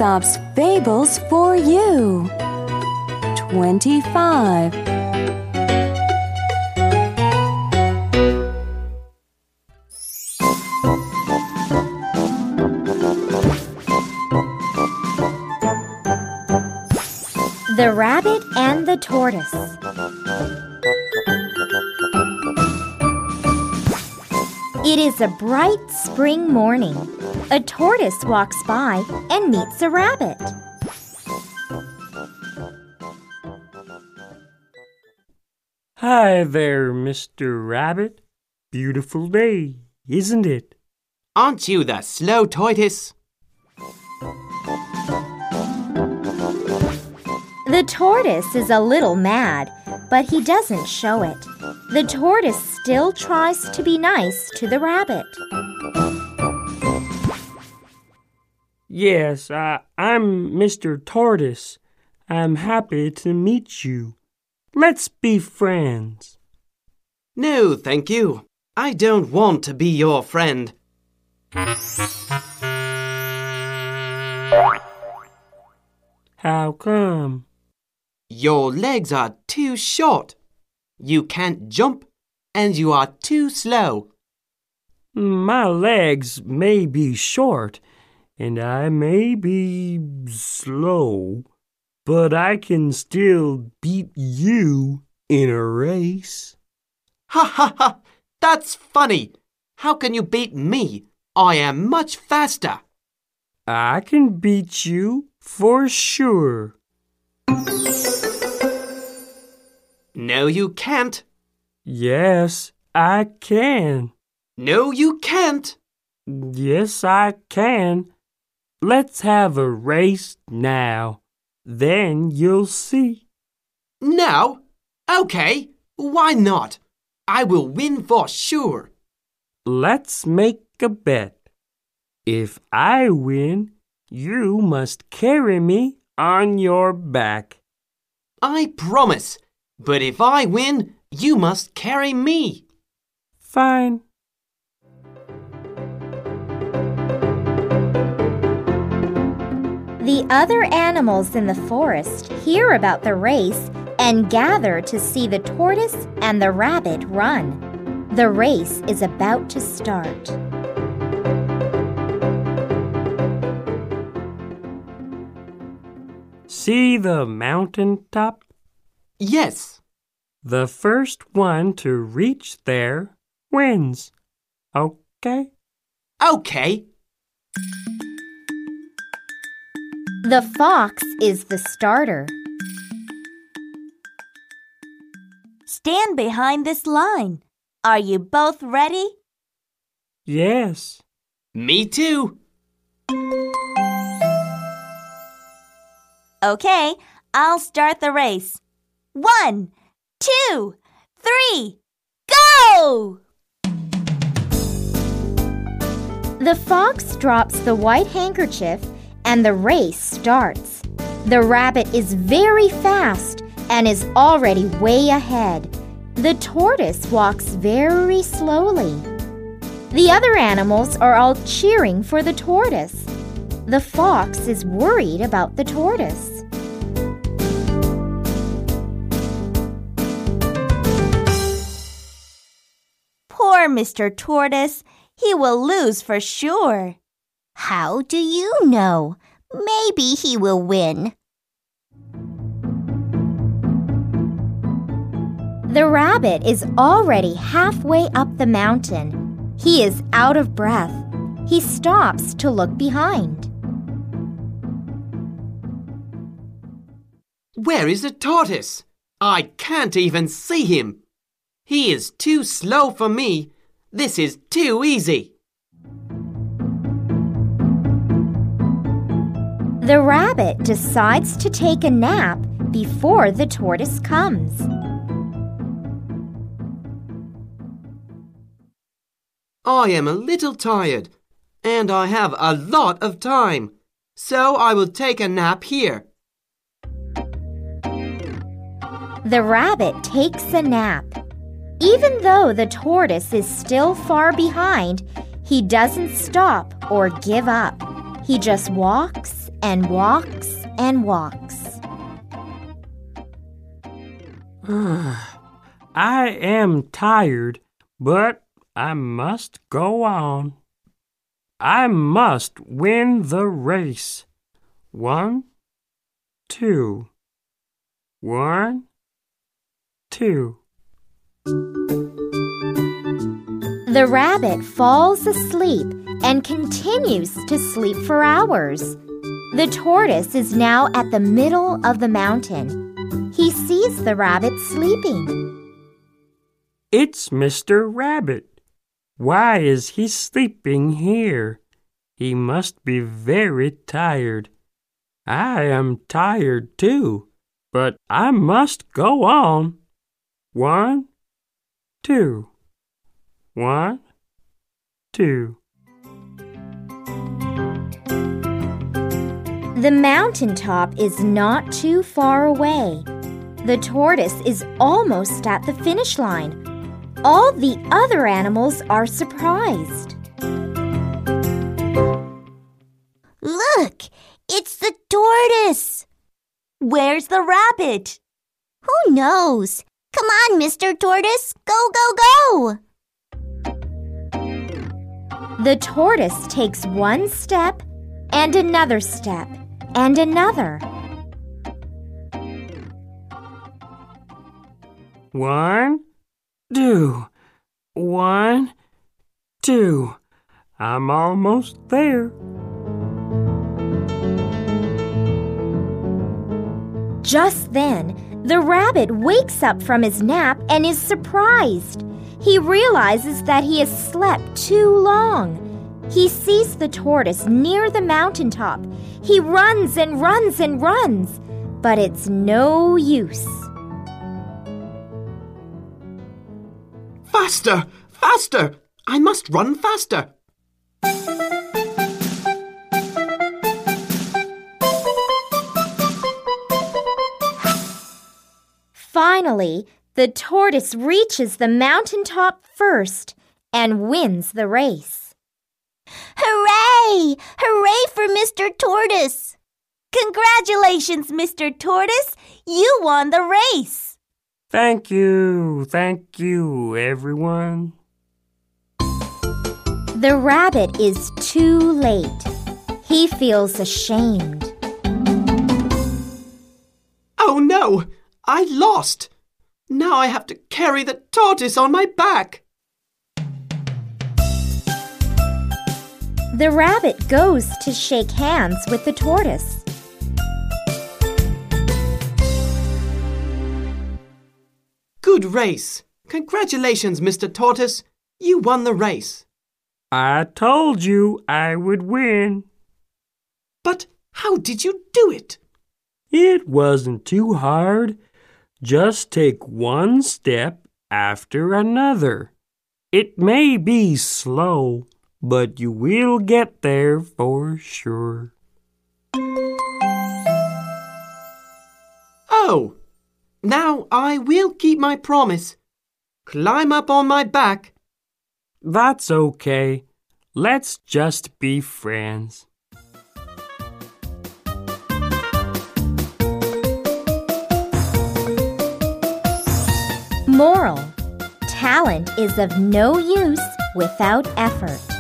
Aesop's Fables for you. 25. The Rabbit and the Tortoise. It is a bright spring morning. A tortoise walks by and meets a rabbit. Hi there, Mr. Rabbit. Beautiful day, isn't it? Aren't you the slow tortoise? The tortoise is a little mad, but he doesn't show it. The tortoise still tries to be nice to the rabbit. Yes, I'm Mr. Tortoise. I'm happy to meet you. Let's be friends. No, thank you. I don't want to be your friend. How come? Your legs are too short. You can't jump, and you are too slow. My legs may be short, and I may be slow, but I can still beat you in a race. Ha ha ha! That's funny. How can you beat me? I am much faster. I can beat you for sure. No, you can't. Yes, I can. No, you can't. Yes, I can. Let's have a race now. Then you'll see. Now? Okay, why not? I will win for sure. Let's make a bet. If I win, you must carry me on your back. I promise. But if I win, you must carry me. Fine. The other animals in the forest hear about the race and gather to see the tortoise and the rabbit run. The race is about to start. See the mountain top? Yes. The first one to reach there wins. Okay? Okay. The fox is the starter. Stand behind this line. Are you both ready? Yes. Me too. Okay, I'll start the race. 1, 2, 3, go! The fox drops the white handkerchief and the race starts. The rabbit is very fast and is already way ahead. The tortoise walks very slowly. The other animals are all cheering for the tortoise. The fox is worried about the tortoise. Poor Mr. Tortoise. He will lose for sure. How do you know? Maybe he will win. The rabbit is already halfway up the mountain. He is out of breath. He stops to look behind. Where is the tortoise? I can't even see him. He is too slow for me. This is too easy. The rabbit decides to take a nap before the tortoise comes. I am a little tired, and I have a lot of time, so I will take a nap here. The rabbit takes a nap. Even though the tortoise is still far behind, he doesn't stop or give up. He just walks and walks and walks. I am tired, but I must go on. I must win the race. 1, 2. 1, 2. The rabbit falls asleep and continues to sleep for hours. The tortoise is now at the middle of the mountain. He sees the rabbit sleeping. It's Mr. Rabbit. Why is he sleeping here? He must be very tired. I am tired too, but I must go on. 1, 2. 1, 2. The mountaintop is not too far away. The tortoise is almost at the finish line. All the other animals are surprised. Look, it's the tortoise. Where's the rabbit? Who knows? Come on, Mr. Tortoise. Go, go, go! The tortoise takes one step and another step and another. 1, 2. 1, 2. I'm almost there. Just then, the rabbit wakes up from his nap and is surprised. He realizes that he has slept too long. He sees the tortoise near the mountaintop. He runs and runs and runs, but it's no use. Faster! Faster! I must run faster! Finally, the tortoise reaches the mountaintop first and wins the race. Hooray! Hooray for Mr. Tortoise! Congratulations, Mr. Tortoise! You won the race! Thank you, everyone. The rabbit is too late. He feels ashamed. Oh no! I lost! Now I have to carry the tortoise on my back. The rabbit goes to shake hands with the tortoise. Good race! Congratulations, Mr. Tortoise. You won the race. I told you I would win. But how did you do it? It wasn't too hard. Just take one step after another. It may be slow, but you will get there for sure. Oh, now I will keep my promise. Climb up on my back. That's okay. Let's just be friends. Moral: talent is of no use without effort.